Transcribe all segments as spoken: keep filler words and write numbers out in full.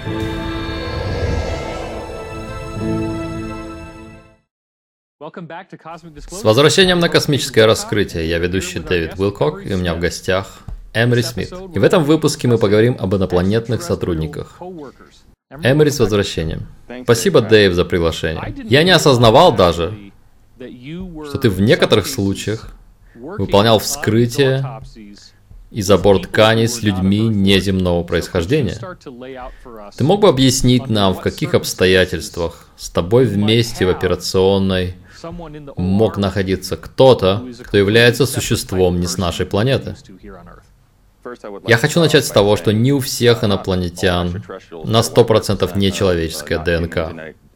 С возвращением на космическое раскрытие. Я ведущий Дэвид Уилкок, и у меня в гостях Эмери Смит. И в этом выпуске мы поговорим об инопланетных сотрудниках. Эмери, с возвращением. Спасибо, Дэйв, за приглашение. Я не осознавал даже, что ты в некоторых случаях выполнял вскрытие и забор тканей с людьми неземного происхождения. Ты мог бы объяснить нам, в каких обстоятельствах с тобой вместе в операционной мог находиться кто-то, кто является существом не с нашей планеты? Я хочу начать с того, что не у всех инопланетян на сто процентов нечеловеческая ДНК.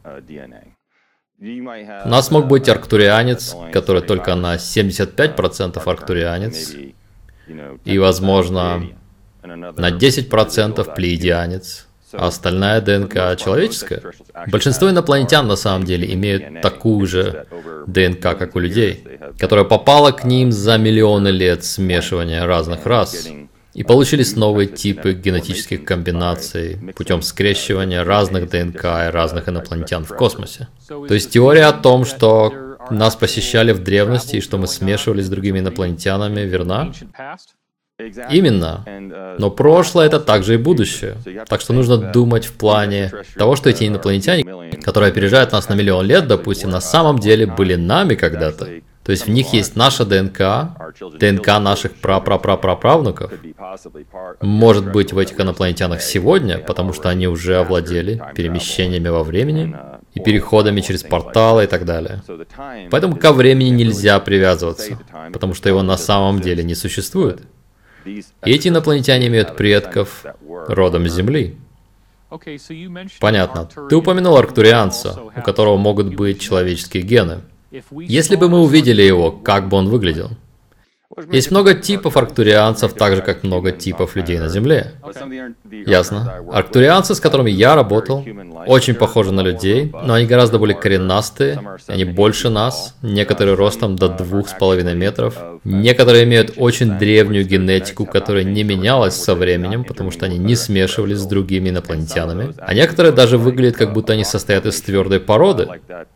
У нас мог быть арктурианец, который только на семьдесят пять процентов арктурианец, и, возможно, на десять процентов плеядианец, а остальная ДНК человеческая. Большинство инопланетян на самом деле имеют такую же ДНК, как у людей, которая попала к ним за миллионы лет смешивания разных рас. И получились новые типы генетических комбинаций путем скрещивания разных ДНК и разных инопланетян в космосе. То есть теория о том, что нас посещали в древности и что мы смешивались с другими инопланетянами, верна? Именно. Но прошлое — это также и будущее. Так что нужно думать в плане того, что эти инопланетяне, которые опережают нас на миллион лет, допустим, на самом деле были нами когда-то. То есть в них есть наша ДНК, ДНК наших пра-пра-пра-праправнуков. Может быть, в этих инопланетянах сегодня, потому что они уже овладели перемещениями во времени и переходами через порталы и так далее. Поэтому ко времени нельзя привязываться, потому что его на самом деле не существует. И эти инопланетяне имеют предков родом с Земли. Понятно. Ты упомянул арктурианца, у которого могут быть человеческие гены. Если бы мы увидели его, как бы он выглядел? Есть много типов арктурианцев, так же, как много типов людей на Земле. Ясно. Арктурианцы, с которыми я работал, очень похожи на людей, но они гораздо более коренастые, они больше нас, некоторые ростом до двух с половиной метров. Некоторые имеют очень древнюю генетику, которая не менялась со временем, потому что они не смешивались с другими инопланетянами. А некоторые даже выглядят, как будто они состоят из твердой породы.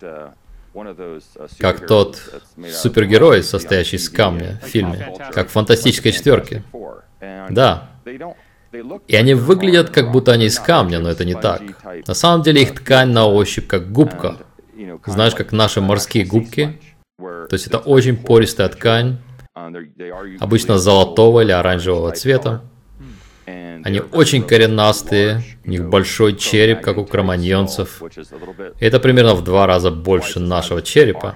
Как тот супергерой, состоящий из камня в фильме, как в «Фантастической четверке». Да. И они выглядят, как будто они из камня, но это не так. На самом деле их ткань на ощупь как губка. Знаешь, как наши морские губки? То есть это очень пористая ткань, обычно золотого или оранжевого цвета. Они очень коренастые, у них большой череп, как у кроманьонцев. И это примерно в два раза больше нашего черепа.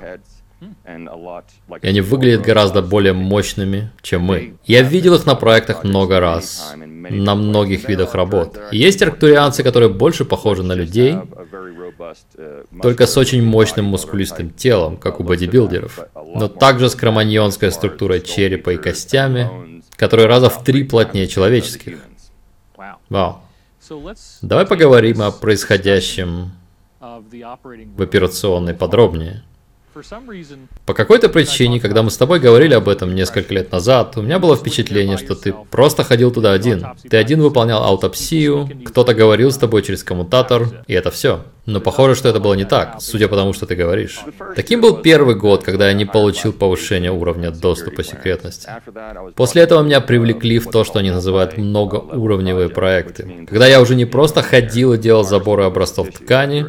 И они выглядят гораздо более мощными, чем мы. Я видел их на проектах много раз, на многих видах работ. И есть арктурианцы, которые больше похожи на людей, только с очень мощным мускулистым телом, как у бодибилдеров, но также с кроманьонской структурой черепа и костями, которые раза в три плотнее человеческих. Вау. Давай поговорим о происходящем в операционной подробнее. По какой-то причине, когда мы с тобой говорили об этом несколько лет назад, у меня было впечатление, что ты просто ходил туда один. Ты один выполнял аутопсию, кто-то говорил с тобой через коммутатор, и это все. Но похоже, что это было не так, судя по тому, что ты говоришь. Таким был первый год, когда я не получил повышения уровня доступа секретности. После этого меня привлекли в то, что они называют многоуровневые проекты. Когда я уже не просто ходил и делал заборы образцов ткани,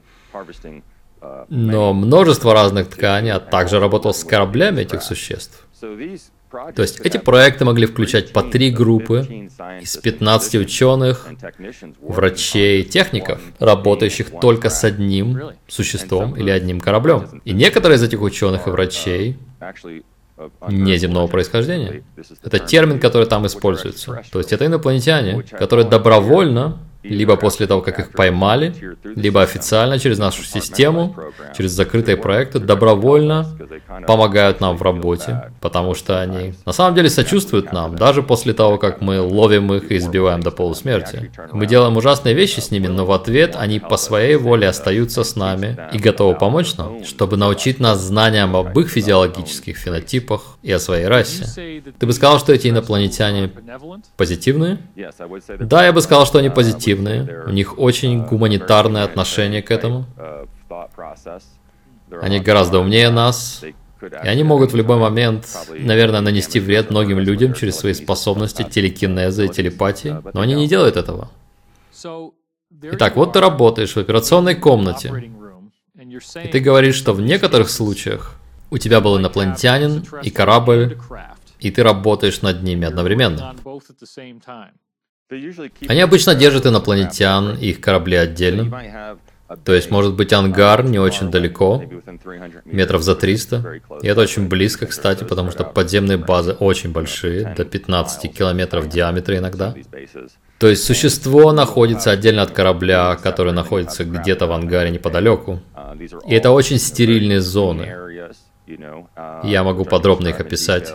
но множество разных тканей, а также работал с кораблями этих существ. То есть эти проекты могли включать по три группы из пятнадцати ученых, врачей, техников, работающих только с одним существом или одним кораблем. И некоторые из этих ученых и врачей неземного происхождения. Это термин, который там используется. То есть это инопланетяне, которые добровольно, либо после того, как их поймали, либо официально через нашу систему, через закрытые проекты, добровольно помогают нам в работе, потому что они на самом деле сочувствуют нам, даже после того, как мы ловим их и избиваем до полусмерти. Мы делаем ужасные вещи с ними, но в ответ они по своей воле остаются с нами и готовы помочь нам, чтобы научить нас знаниям об их физиологических фенотипах и о своей расе. Ты бы сказал, что эти инопланетяне позитивные? Да, я бы сказал, что они позитивные. У них очень гуманитарное отношение к этому. Они гораздо умнее нас. И они могут в любой момент, наверное, нанести вред многим людям через свои способности телекинеза и телепатии, но они не делают этого. Итак, вот ты работаешь в операционной комнате, и ты говоришь, что в некоторых случаях у тебя был инопланетянин и корабль, и ты работаешь над ними одновременно. Они обычно держат инопланетян и их корабли отдельно. То есть, может быть, ангар не очень далеко, метров за триста. И это очень близко, кстати, потому что подземные базы очень большие, до пятнадцати километров в диаметре иногда. То есть, существо находится отдельно от корабля, который находится где-то в ангаре неподалеку. И это очень стерильные зоны. Я могу подробно их описать.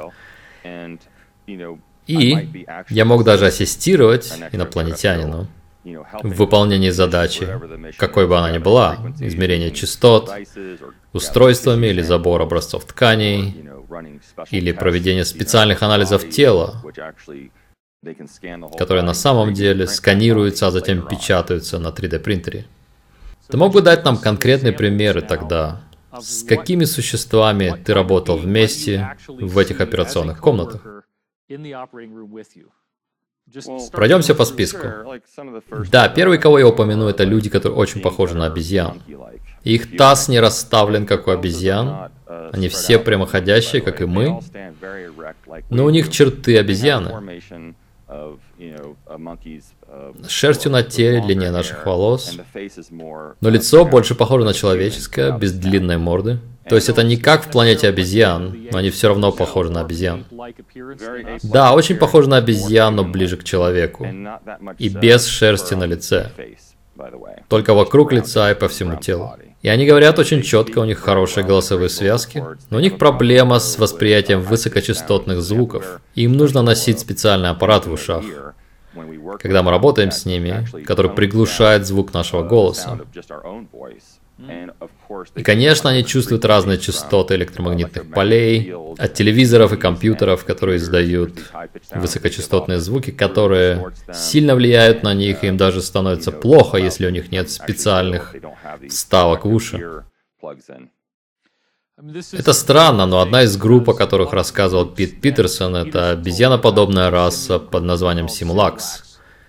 И я мог даже ассистировать инопланетянину в выполнении задачи, какой бы она ни была, измерение частот, устройствами или забор образцов тканей, или проведение специальных анализов тела, которые на самом деле сканируются, а затем печатаются на три дэ принтере. Ты мог бы дать нам конкретные примеры тогда, с какими существами ты работал вместе в этих операционных комнатах? Пройдемся по списку. Да, первый, кого я упомяну, это люди, которые очень похожи на обезьян. Их таз не расставлен, как у обезьян. Они все прямоходящие, как и мы. Но у них черты обезьяны. С шерстью на теле, длиннее наших волос. Но лицо больше похоже на человеческое, без длинной морды. То есть это не как в планете обезьян, но они все равно похожи на обезьян. Да, очень похожи на обезьян, но ближе к человеку. И без шерсти на лице. Только вокруг лица и по всему телу. И они говорят очень четко, у них хорошие голосовые связки, но у них проблема с восприятием высокочастотных звуков. И им нужно носить специальный аппарат в ушах, когда мы работаем с ними, который приглушает звук нашего голоса. И, конечно, они чувствуют разные частоты электромагнитных полей, от телевизоров и компьютеров, которые издают высокочастотные звуки, которые сильно влияют на них, и им даже становится плохо, если у них нет специальных вставок в уши. Это странно, но одна из групп, о которых рассказывал Пит Питерсон, это обезьяноподобная раса под названием Симулакс.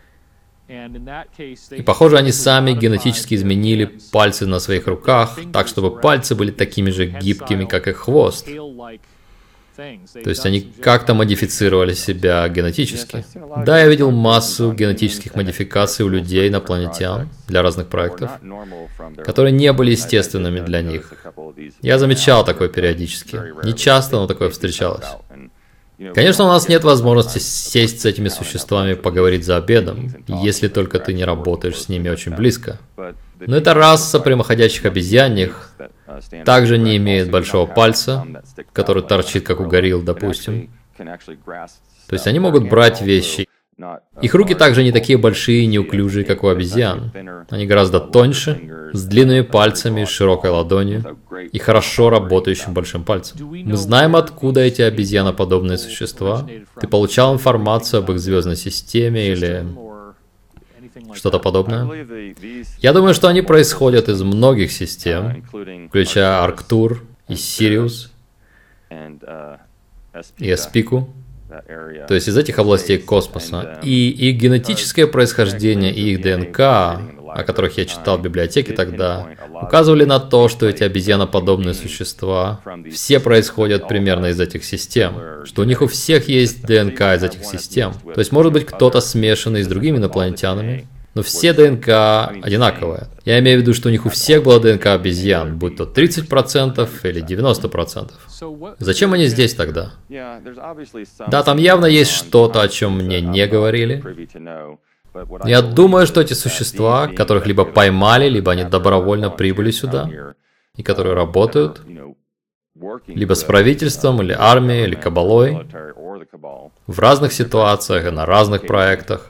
И похоже, они сами генетически изменили пальцы на своих руках, так чтобы пальцы были такими же гибкими, как их хвост. То есть они как-то модифицировали себя генетически. Да, я видел массу генетических модификаций у людей, инопланетян, для разных проектов, которые не были естественными для них. Я замечал такое периодически. Не часто, но такое встречалось. Конечно, у нас нет возможности сесть с этими существами и поговорить за обедом, если только ты не работаешь с ними очень близко. Но эта раса прямоходящих обезьяньих также не имеет большого пальца, который торчит, как у горилл, допустим. То есть они могут брать вещи. Их руки также не такие большие и неуклюжие, как у обезьян. Они гораздо тоньше, с длинными пальцами, широкой ладонью и хорошо работающим большим пальцем. Мы знаем, откуда эти обезьяноподобные существа. Ты получал информацию об их звездной системе или что-то подобное? Я думаю, что они происходят из многих систем, включая Арктур и Сириус и Эспику. То есть из этих областей космоса. И их генетическое происхождение и их ДНК, о которых я читал в библиотеке тогда, указывали на то, что эти обезьяноподобные существа все происходят примерно из этих систем. Что у них у всех есть ДНК из этих систем. То есть может быть кто-то смешанный с другими инопланетянами, но все ДНК одинаковые. Я имею в виду, что у них у всех была ДНК обезьян, будь то тридцать процентов или девяносто процентов. Зачем они здесь тогда? Да, там явно есть что-то, о чем мне не говорили. Я думаю, что эти существа, которых либо поймали, либо они добровольно прибыли сюда, и которые работают, либо с правительством, или армией, или кабалой, в разных ситуациях и на разных проектах.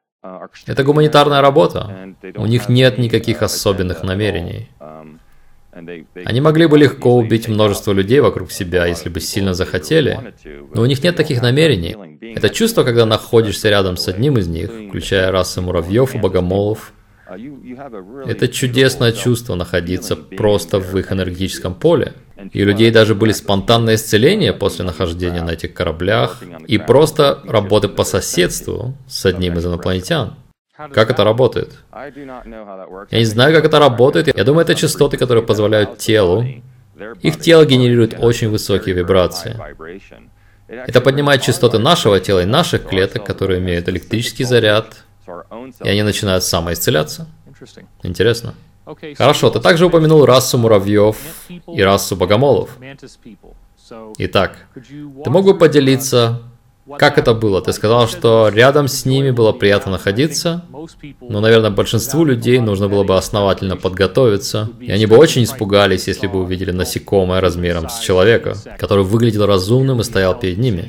Это гуманитарная работа. У них нет никаких особенных намерений. Они могли бы легко убить множество людей вокруг себя, если бы сильно захотели, но у них нет таких намерений. Это чувство, когда находишься рядом с одним из них, включая расы муравьев и богомолов, это чудесное чувство находиться просто в их энергетическом поле. И у людей даже были спонтанные исцеления после нахождения на этих кораблях и просто работы по соседству с одним из инопланетян. Как это работает? Я не знаю, как это работает. Я думаю, это частоты, которые позволяют телу. Их тело генерирует очень высокие вибрации. Это поднимает частоты нашего тела и наших клеток, которые имеют электрический заряд, и они начинают самоисцеляться. Интересно. Хорошо, ты также упомянул расу муравьев и расу богомолов. Итак, ты мог бы поделиться, как это было? Ты сказал, что рядом с ними было приятно находиться, но, наверное, большинству людей нужно было бы основательно подготовиться, и они бы очень испугались, если бы увидели насекомое размером с человека, который выглядел разумным и стоял перед ними.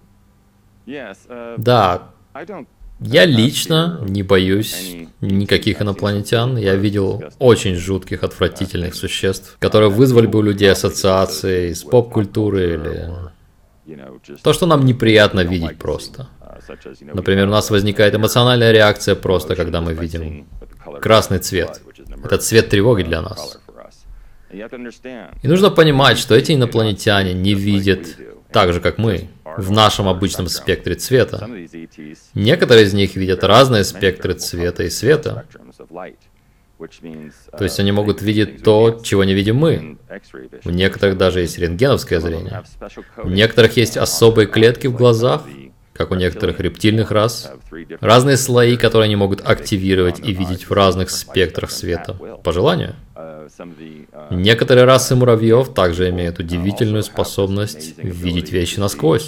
Да, я лично не боюсь никаких инопланетян. Я видел очень жутких, отвратительных существ, которые вызвали бы у людей ассоциации из поп-культуры или то, что нам неприятно видеть просто. Например, у нас возникает эмоциональная реакция просто, когда мы видим красный цвет. Это цвет тревоги для нас. И нужно понимать, что эти инопланетяне не видят так же, как мы, в нашем обычном спектре цвета. Некоторые из них видят разные спектры цвета и света. То есть они могут видеть то, чего не видим мы. У некоторых даже есть рентгеновское зрение. У некоторых есть особые клетки в глазах, как у некоторых рептильных рас. Разные слои, которые они могут активировать и видеть в разных спектрах света, по желанию. Некоторые расы муравьев также имеют удивительную способность видеть вещи насквозь,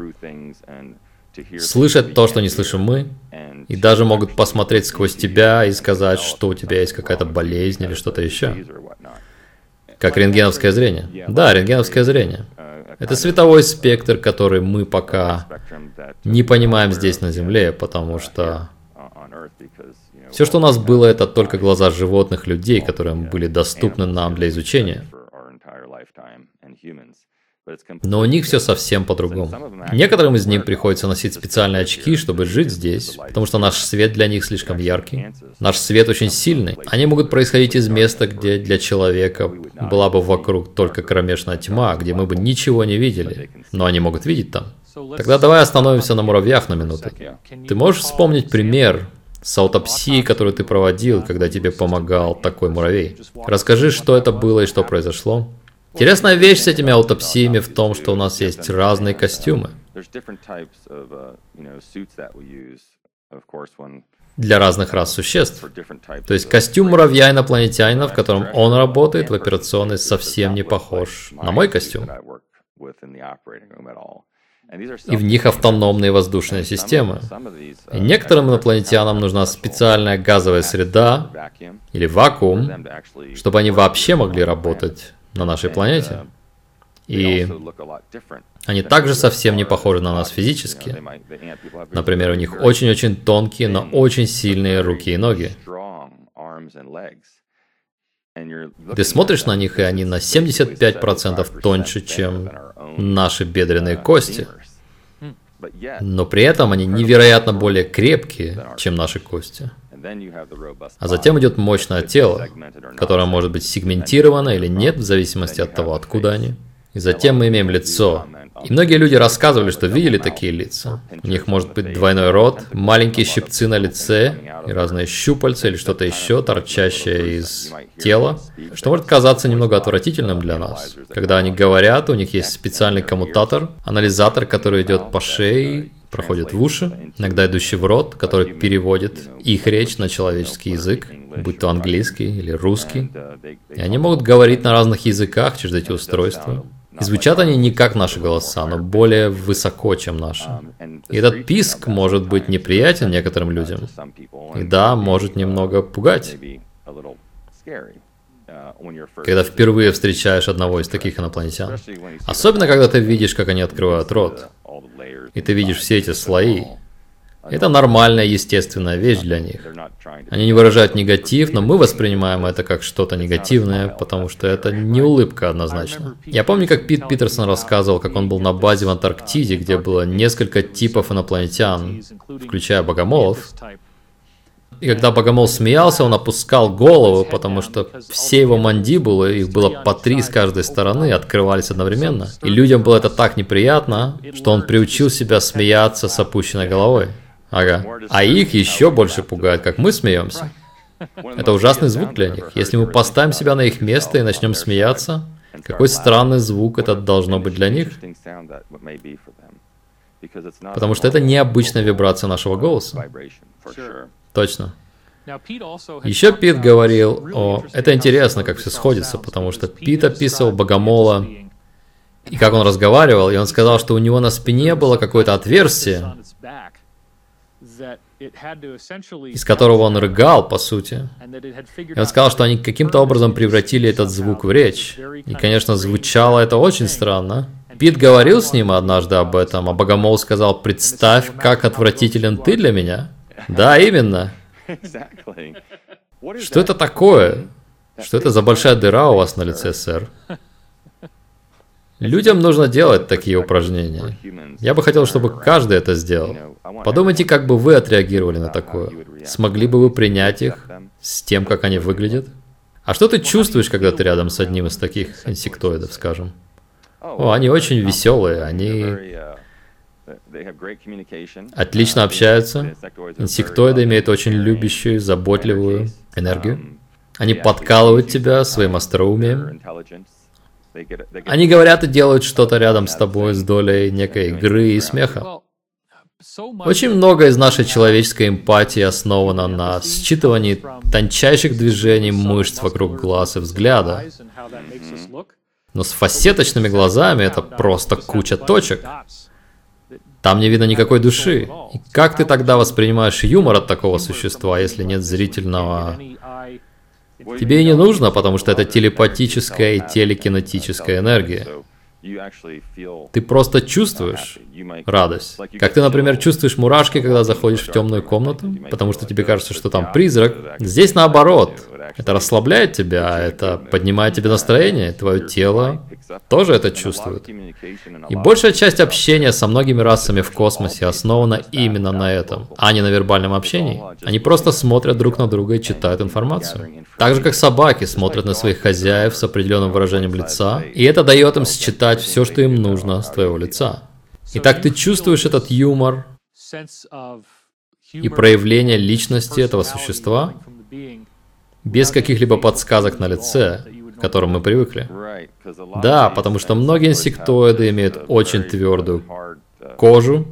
слышать то, что не слышим мы, и даже могут посмотреть сквозь тебя и сказать, что у тебя есть какая-то болезнь или что-то еще. Как рентгеновское зрение. Да, рентгеновское зрение. Это световой спектр, который мы пока не понимаем здесь на Земле, потому что все, что у нас было, это только глаза животных людей, которые были доступны нам для изучения. Но у них все совсем по-другому. Некоторым из них приходится носить специальные очки, чтобы жить здесь, потому что наш свет для них слишком яркий. Наш свет очень сильный. Они могут происходить из места, где для человека была бы вокруг только кромешная тьма, где мы бы ничего не видели, но они могут видеть там. Тогда давай остановимся на муравьях на минуту. Ты можешь вспомнить пример с аутопсией, которую ты проводил, когда тебе помогал такой муравей? Расскажи, что это было и что произошло. Интересная вещь с этими аутопсиями в том, что у нас есть разные костюмы для разных рас существ. То есть костюм муравья-инопланетянина, в котором он работает в операционной, совсем не похож на мой костюм. И в них автономные воздушные системы. И некоторым инопланетянам нужна специальная газовая среда или вакуум, чтобы они вообще могли работать на нашей планете. И они также совсем не похожи на нас физически. Например, у них очень-очень тонкие, но очень сильные руки и ноги. Ты смотришь на них, и они на семьдесят пять процентов тоньше, чем наши бедренные кости. Но при этом они невероятно более крепкие, чем наши кости. А затем идет мощное тело, которое может быть сегментировано или нет, в зависимости от того, откуда они. И затем мы имеем лицо. И многие люди рассказывали, что видели такие лица. У них может быть двойной рот, маленькие щипцы на лице, и разные щупальца или что-то еще, торчащее из тела, что может казаться немного отвратительным для нас. Когда они говорят, у них есть специальный коммутатор, анализатор, который идет по шее, проходит в уши, иногда идущий в рот, который переводит их речь на человеческий язык, будь то английский или русский. И они могут говорить на разных языках через эти устройства. И звучат они не как наши голоса, но более высоко, чем наши. И этот писк может быть неприятен некоторым людям. И да, может немного пугать. Когда впервые встречаешь одного из таких инопланетян. Особенно, когда ты видишь, как они открывают рот. И ты видишь все эти слои. Это нормальная, естественная вещь для них. Они не выражают негатив, но мы воспринимаем это как что-то негативное, потому что это не улыбка однозначно. Я помню, как Пит Питерсон рассказывал, как он был на базе в Антарктиде, где было несколько типов инопланетян, включая богомолов. И когда богомол смеялся, он опускал голову, потому что все его мандибулы, их было по три с каждой стороны, открывались одновременно. И людям было это так неприятно, что он приучил себя смеяться с опущенной головой. Ага. А их еще больше пугает, как мы смеемся. Это ужасный звук для них. Если мы поставим себя на их место и начнем смеяться, какой странный звук это должно быть для них? Потому что это необычная вибрация нашего голоса. Точно. Еще Пит говорил о... Это интересно, как все сходится, потому что Пит описывал богомола, и как он разговаривал, и он сказал, что у него на спине было какое-то отверстие, из которого он рыгал, по сути. И он сказал, что они каким-то образом превратили этот звук в речь. И, конечно, звучало это очень странно. Пит говорил с ним однажды об этом, а богомол сказал: «Представь, как отвратителен ты для меня». Да, именно. Что это такое? Что это за большая дыра у вас на лице, сэр? Людям нужно делать такие упражнения. Я бы хотел, чтобы каждый это сделал. Подумайте, как бы вы отреагировали на такое. Смогли бы вы принять их с тем, как они выглядят? А что ты чувствуешь, когда ты рядом с одним из таких инсектоидов, скажем? О, они очень веселые, они отлично общаются. Инсектоиды имеют очень любящую, заботливую энергию. Они подкалывают тебя своим остроумием. Они говорят и делают что-то рядом с тобой с долей некой игры и смеха. Очень много из нашей человеческой эмпатии основано на считывании тончайших движений мышц вокруг глаз и взгляда. Но с фасеточными глазами это просто куча точек. Там не видно никакой души. И как ты тогда воспринимаешь юмор от такого существа, если нет зрительного... Тебе и не нужно, потому что это телепатическая и телекинетическая энергия. Ты просто чувствуешь радость. Как ты, например, чувствуешь мурашки, когда заходишь в темную комнату, потому что тебе кажется, что там призрак. Здесь наоборот. Это расслабляет тебя, это поднимает тебе настроение, твое тело тоже это чувствует. И большая часть общения со многими расами в космосе основана именно на этом, а не на вербальном общении. Они просто смотрят друг на друга и читают информацию. Так же, как собаки смотрят на своих хозяев с определенным выражением лица, и это дает им считать все, что им нужно с твоего лица. Итак, ты чувствуешь этот юмор и проявление личности этого существа без каких-либо подсказок на лице, к которым мы привыкли. Да, потому что многие инсектоиды имеют очень твердую кожу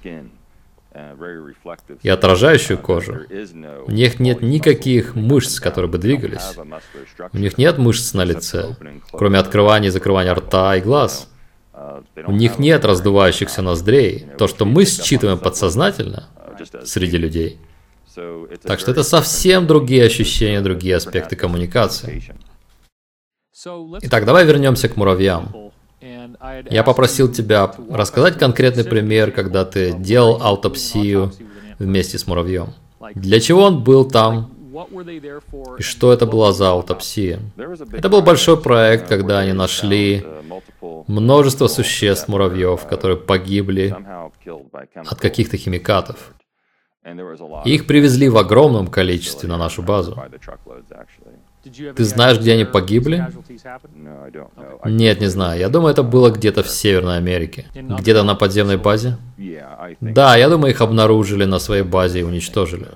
и отражающую кожу. У них нет никаких мышц, которые бы двигались. У них нет мышц на лице, кроме открывания и закрывания рта и глаз. У них нет раздувающихся ноздрей. То, что мы считываем подсознательно среди людей. Так что это совсем другие ощущения, другие аспекты коммуникации. Итак, давай вернемся к муравьям. Я попросил тебя рассказать конкретный пример, когда ты делал аутопсию вместе с муравьем. Для чего он был там? И что это была за аутопсия? Это был большой проект, когда они нашли множество существ муравьев, которые погибли от каких-то химикатов. И их привезли в огромном количестве на нашу базу. Ты знаешь, где они погибли? Нет, не знаю. Я думаю, это было где-то в Северной Америке. Где-то на подземной базе? Да, я думаю, их обнаружили на своей базе и уничтожили.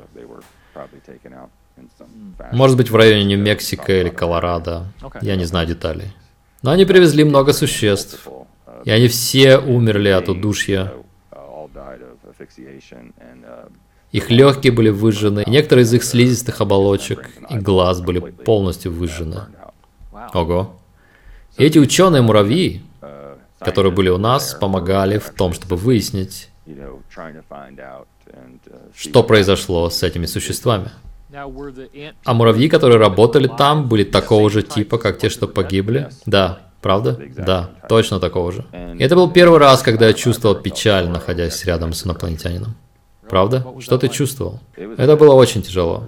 Может быть, в районе Нью-Мексико или Колорадо. Я не знаю деталей. Но они привезли много существ. И они все умерли от удушья. Их легкие были выжжены, и некоторые из их слизистых оболочек и глаз были полностью выжжены. Ого. И эти ученые-муравьи, которые были у нас, помогали в том, чтобы выяснить, что произошло с этими существами. А муравьи, которые работали там, были такого же типа, как те, что погибли? Да. Правда? Да, точно такого же. И это был первый раз, когда я чувствовал печаль, находясь рядом с инопланетянином. Правда? Что ты чувствовал? Это было очень тяжело.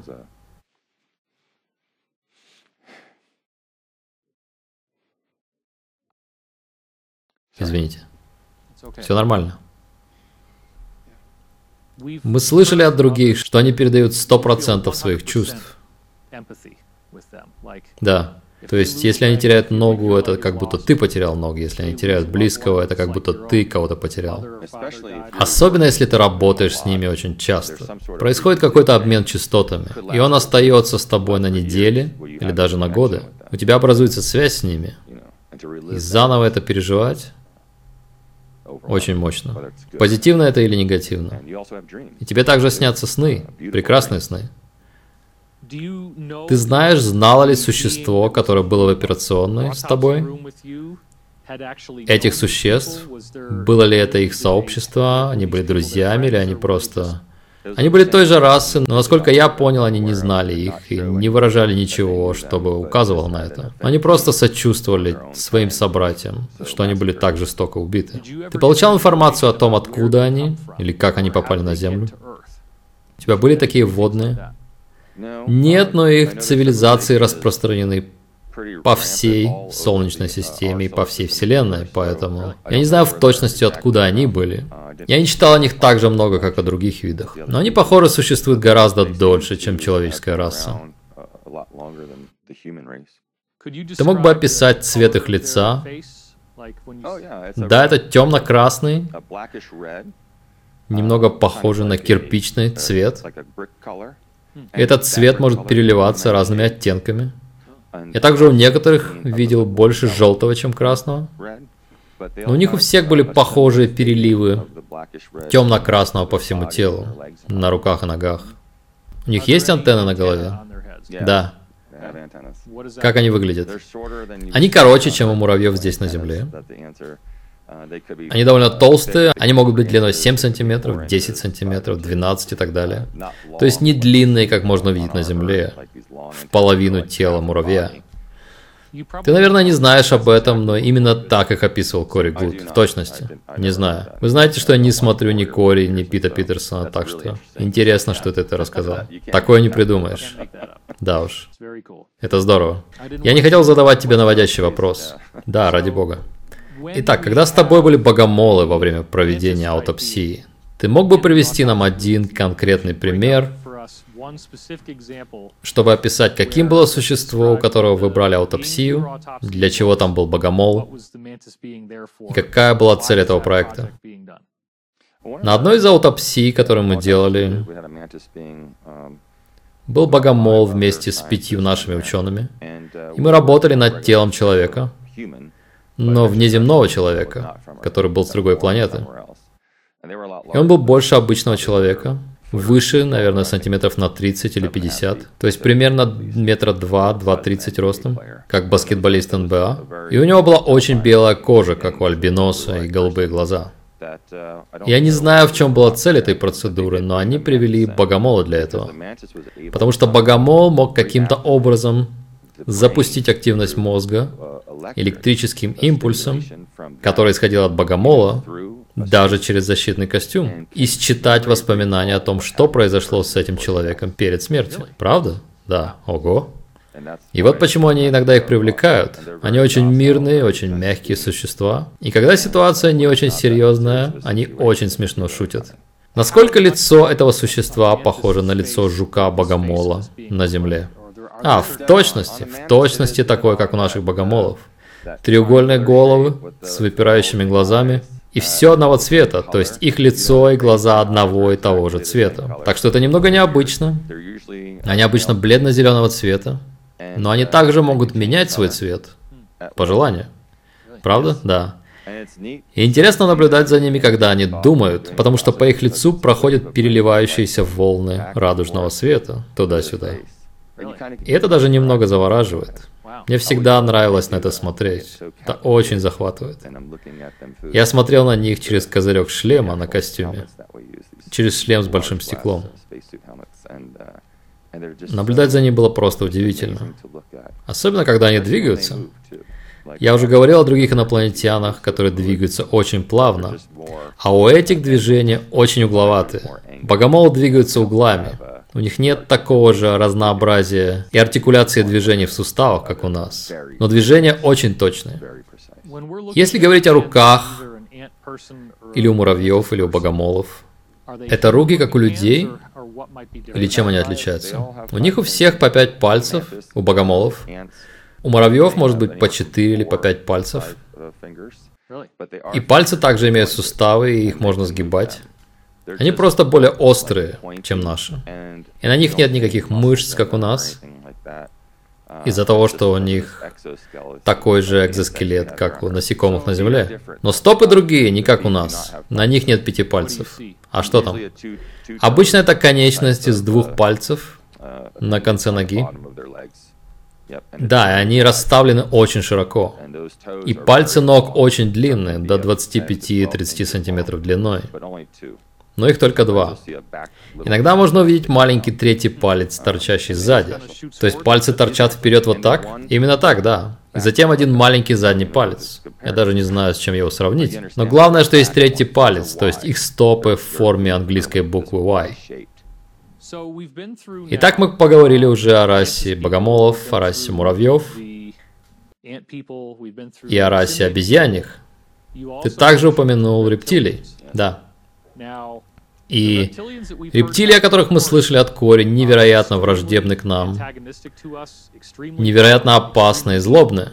Извините. Все нормально. Мы слышали от других, что они передают сто процентов своих чувств. Да. То есть, если они теряют ногу, это как будто ты потерял ногу. Если они теряют близкого, это как будто ты кого-то потерял. Особенно, если ты работаешь с ними очень часто. Происходит какой-то обмен частотами, и он остается с тобой на недели или даже на годы. У тебя образуется связь с ними. И заново это переживать очень мощно. Позитивно это или негативно. И тебе также снятся сны, прекрасные сны. Ты знаешь, знало ли существо, которое было в операционной с тобой? Этих существ? Было ли это их сообщество? Они были друзьями или они просто... Они были той же расы, но, насколько я понял, они не знали их и не выражали ничего, чтобы указывало на это. Они просто сочувствовали своим собратьям, что они были так жестоко убиты. Ты получал информацию о том, откуда они, или как они попали на Землю? У тебя были такие вводные? Нет, но их цивилизации распространены по всей Солнечной системе и по всей Вселенной, поэтому я не знаю в точности, откуда они были. Я не читал о них так же много, как о других видах, но они, похоже, существуют гораздо дольше, чем человеческая раса. Ты мог бы описать цвет их лица? Да, это темно-красный, немного похожий на кирпичный цвет. Этот цвет может переливаться разными оттенками. Я также у некоторых видел больше желтого, чем красного. Но у них у всех были похожие переливы темно-красного по всему телу, на руках и ногах. У них есть антенны на голове? Да. Как они выглядят? Они короче, чем у муравьев здесь на Земле. Они довольно толстые, они могут быть длиной семь сантиметров, десять сантиметров, двенадцать и так далее. То есть не длинные, как можно увидеть на Земле, в половину тела муравья. Ты, наверное, не знаешь об этом, но именно так их описывал Кори Гуд, в точности. Не знаю. Вы знаете, что я не смотрю ни Кори, ни Пита Питерсона, так что интересно, что ты это рассказал. Такое не придумаешь. Да уж. Это здорово. Я не хотел задавать тебе наводящий вопрос. Да, ради бога. Итак, когда с тобой были богомолы во время проведения аутопсии, ты мог бы привести нам один конкретный пример, чтобы описать, каким было существо, у которого вы брали аутопсию, для чего там был богомол, и какая была цель этого проекта? На одной из аутопсий, которую мы делали, был богомол вместе с пятью нашими учеными, и мы работали над телом человека, но внеземного человека, который был с другой планеты. И он был больше обычного человека, выше, наверное, сантиметров на тридцать или пятьдесят, то есть примерно метра два, два тридцать ростом, как баскетболист эн бэ а. И у него была очень белая кожа, как у альбиноса, и голубые глаза. Я не знаю, в чем была цель этой процедуры, но они привели богомола для этого. Потому что богомол мог каким-то образом запустить активность мозга электрическим импульсом, который исходил от богомола, даже через защитный костюм, и считать воспоминания о том, что произошло с этим человеком перед смертью. Правда? Да. Ого. И вот почему они иногда их привлекают. Они очень мирные, очень мягкие существа. И когда ситуация не очень серьезная, они очень смешно шутят. Насколько лицо этого существа похоже на лицо жука-богомола на Земле? А, в точности, в точности такое, как у наших богомолов. Треугольные головы с выпирающими глазами. И все одного цвета, то есть их лицо и глаза одного и того же цвета. Так что это немного необычно. Они обычно бледно-зеленого цвета, но они также могут менять свой цвет по желанию. Правда? Да. И интересно наблюдать за ними, когда они думают, потому что по их лицу проходят переливающиеся волны радужного света туда-сюда. И это даже немного завораживает. Мне всегда нравилось на это смотреть. Это очень захватывает. Я смотрел на них через козырек шлема на костюме. Через шлем с большим стеклом. Наблюдать за ними было просто удивительно. Особенно, когда они двигаются. Я уже говорил о других инопланетянах, которые двигаются очень плавно, а у этих движения очень угловатые. Богомолы двигаются углами. У них нет такого же разнообразия и артикуляции движений в суставах, как у нас. Но движения очень точные. Если говорить о руках, или у муравьев, или у богомолов, это руки, как у людей? Или чем они отличаются? У них у всех по пять пальцев, у богомолов. У муравьев может быть по четыре или по пять пальцев. И пальцы также имеют суставы, и их можно сгибать. Они просто более острые, чем наши. И на них нет никаких мышц, как у нас. Из-за того, что у них такой же экзоскелет, как у насекомых на Земле. Но стопы другие, не как у нас. На них нет пяти пальцев. А что там? Обычно это конечность из двух пальцев на конце ноги. Да, и они расставлены очень широко. И пальцы ног очень длинные, до двадцати пяти-тридцати сантиметров длиной. Но их только два. Иногда можно увидеть маленький третий палец, торчащий сзади. То есть пальцы торчат вперед вот так? Именно так, да. И затем один маленький задний палец. Я даже не знаю, с чем его сравнить. Но главное, что есть третий палец, то есть их стопы в форме английской буквы Y. Итак, мы поговорили уже о расе богомолов, о расе муравьев и о расе обезьяньих. Ты также упомянул рептилий. Да. И рептилии, о которых мы слышали от Кори, невероятно враждебны к нам, невероятно опасны и злобны.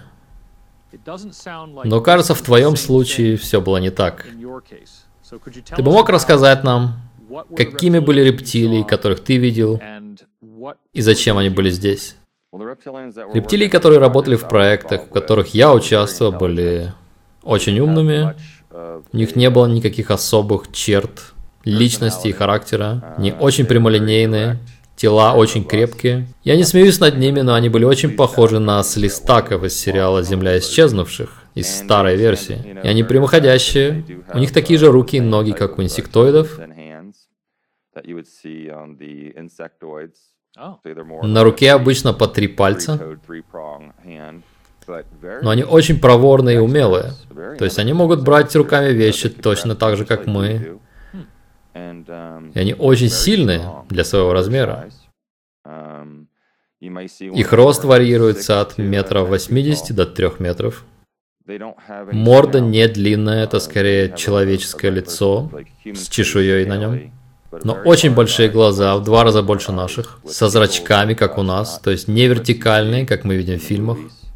Но кажется, в твоем случае все было не так. Ты бы мог рассказать нам, какими были рептилии, которых ты видел, и зачем они были здесь? Рептилии, которые работали в проектах, в которых я участвовал, были очень умными. У них не было никаких особых черт личности и характера. Они очень прямолинейные, тела очень крепкие. Я не смеюсь над ними, но они были очень похожи на слистаков из сериала «Земля исчезнувших», из старой версии. И они прямоходящие. У них такие же руки и ноги, как у инсектоидов. На руке обычно по три пальца. Но они очень проворные и умелые. То есть они могут брать руками вещи точно так же, как мы. И они очень сильные для своего размера. Их рост варьируется от метра восьмидесяти до трех метров. Морда не длинная, это скорее человеческое лицо с чешуей на нем. Но очень большие глаза, в два раза больше наших, со зрачками, как у нас, то есть не вертикальные, как мы видим в фильмах.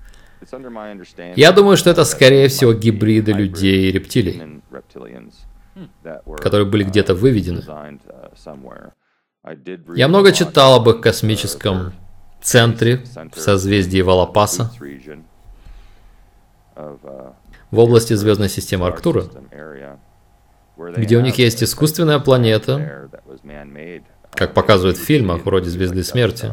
Я думаю, что это, скорее всего, гибриды людей и рептилий, которые были где-то выведены. Я много читал об их космическом центре в созвездии Валапаса, в области звездной системы Арктура, где у них есть искусственная планета, как показывают в фильмах, вроде «Звезды смерти».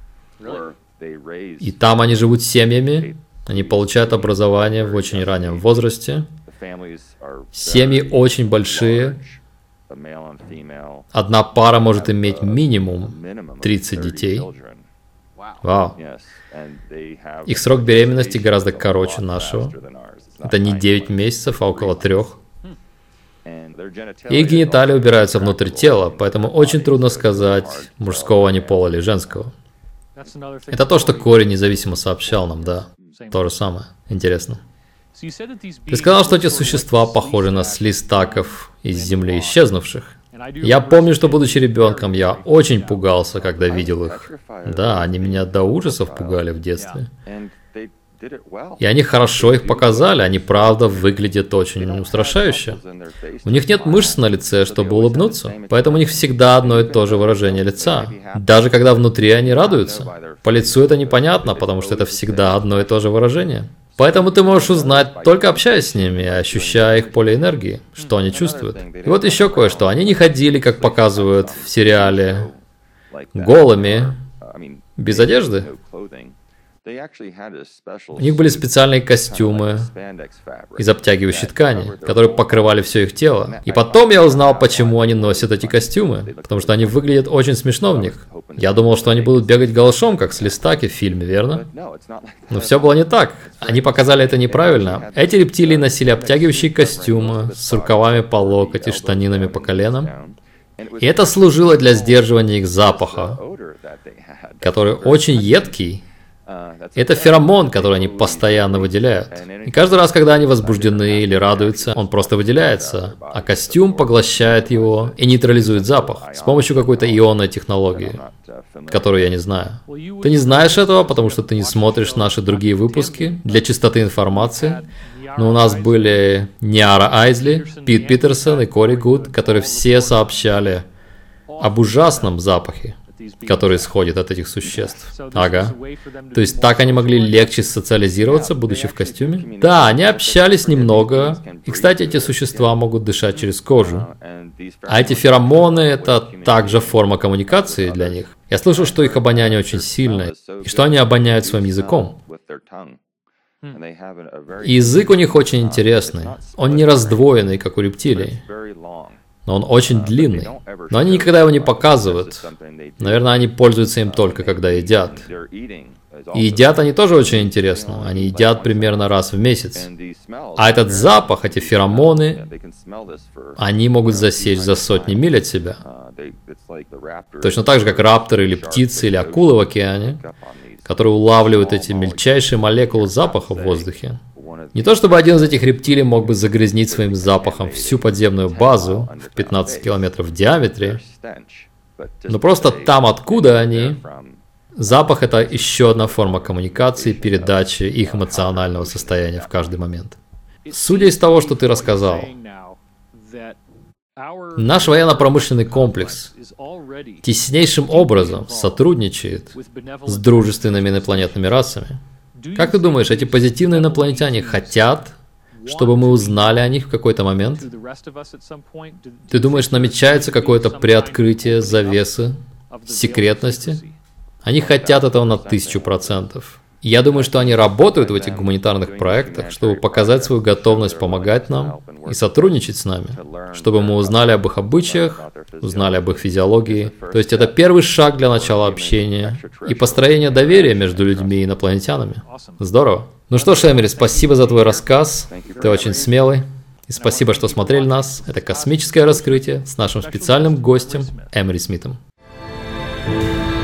И там они живут семьями, они получают образование в очень раннем возрасте. Семьи очень большие. Одна пара может иметь минимум тридцать детей. Вау. Их срок беременности гораздо короче нашего. Это не девять месяцев, а около трех. Их гениталии убираются внутрь тела, поэтому очень трудно сказать, мужского они пола или женского. Это то, что Кори независимо сообщал нам, да. То же самое. Интересно. Ты сказал, что эти существа похожи на слистаков из Земли исчезнувших. Я помню, что, будучи ребенком, я очень пугался, когда видел их. Да, они меня до ужасов пугали в детстве. И они хорошо их показали, они правда выглядят очень устрашающе. У них нет мышц на лице, чтобы улыбнуться, поэтому у них всегда одно и то же выражение лица. Даже когда внутри они радуются. По лицу это непонятно, потому что это всегда одно и то же выражение. Поэтому ты можешь узнать, только общаясь с ними, ощущая их поле энергии, что они чувствуют. И вот еще кое-что. Они не ходили, как показывают в сериале, голыми, без одежды. У них были специальные костюмы из обтягивающей ткани, которые покрывали все их тело. И потом я узнал, почему они носят эти костюмы. Потому что они выглядят очень смешно в них. Я думал, что они будут бегать голышом, как с листаки в фильме, верно? Но все было не так. Они показали это неправильно. Эти рептилии носили обтягивающие костюмы с рукавами по локоть и штанинами по коленам. И это служило для сдерживания их запаха, который очень едкий. Это феромон, который они постоянно выделяют. И каждый раз, когда они возбуждены или радуются, он просто выделяется, а костюм поглощает его и нейтрализует запах с помощью какой-то ионной технологии, которую я не знаю. Ты не знаешь этого, потому что ты не смотришь наши другие выпуски для чистоты информации. Но у нас были Ниара Айзли, Пит Питерсон и Кори Гуд, которые все сообщали об ужасном запахе, который исходит от этих существ. Ага. То есть так они могли легче социализироваться, будучи в костюме? Да, они общались немного. И, кстати, эти существа могут дышать через кожу. А эти феромоны — это также форма коммуникации для них. Я слышал, что их обоняние очень сильное, и что они обоняют своим языком. И язык у них очень интересный. Он не раздвоенный, как у рептилий. Но он очень длинный. Но они никогда его не показывают. Наверное, они пользуются им только когда едят. И едят они тоже очень интересно. Они едят примерно раз в месяц. А этот запах, эти феромоны, они могут засечь за сотни миль от себя. Точно так же, как рапторы или птицы или акулы в океане, которые улавливают эти мельчайшие молекулы запаха в воздухе. Не то чтобы один из этих рептилий мог бы загрязнить своим запахом всю подземную базу в пятнадцать километров в диаметре, но просто там, откуда они, запах — это еще одна форма коммуникации, передачи их эмоционального состояния в каждый момент. Судя из того, что ты рассказал, наш военно-промышленный комплекс теснейшим образом сотрудничает с дружественными инопланетными расами. Как ты думаешь, эти позитивные инопланетяне хотят, чтобы мы узнали о них в какой-то момент? Ты думаешь, намечается какое-то приоткрытие завесы секретности? Они хотят этого на тысячу процентов. Я думаю, что они работают в этих гуманитарных проектах, чтобы показать свою готовность помогать нам и сотрудничать с нами, чтобы мы узнали об их обычаях, узнали об их физиологии. То есть это первый шаг для начала общения и построения доверия между людьми и инопланетянами. Здорово. Ну что ж, Эмери, спасибо за твой рассказ. Ты очень смелый. И спасибо, что смотрели нас. Это космическое раскрытие с нашим специальным гостем Эмери Смитом.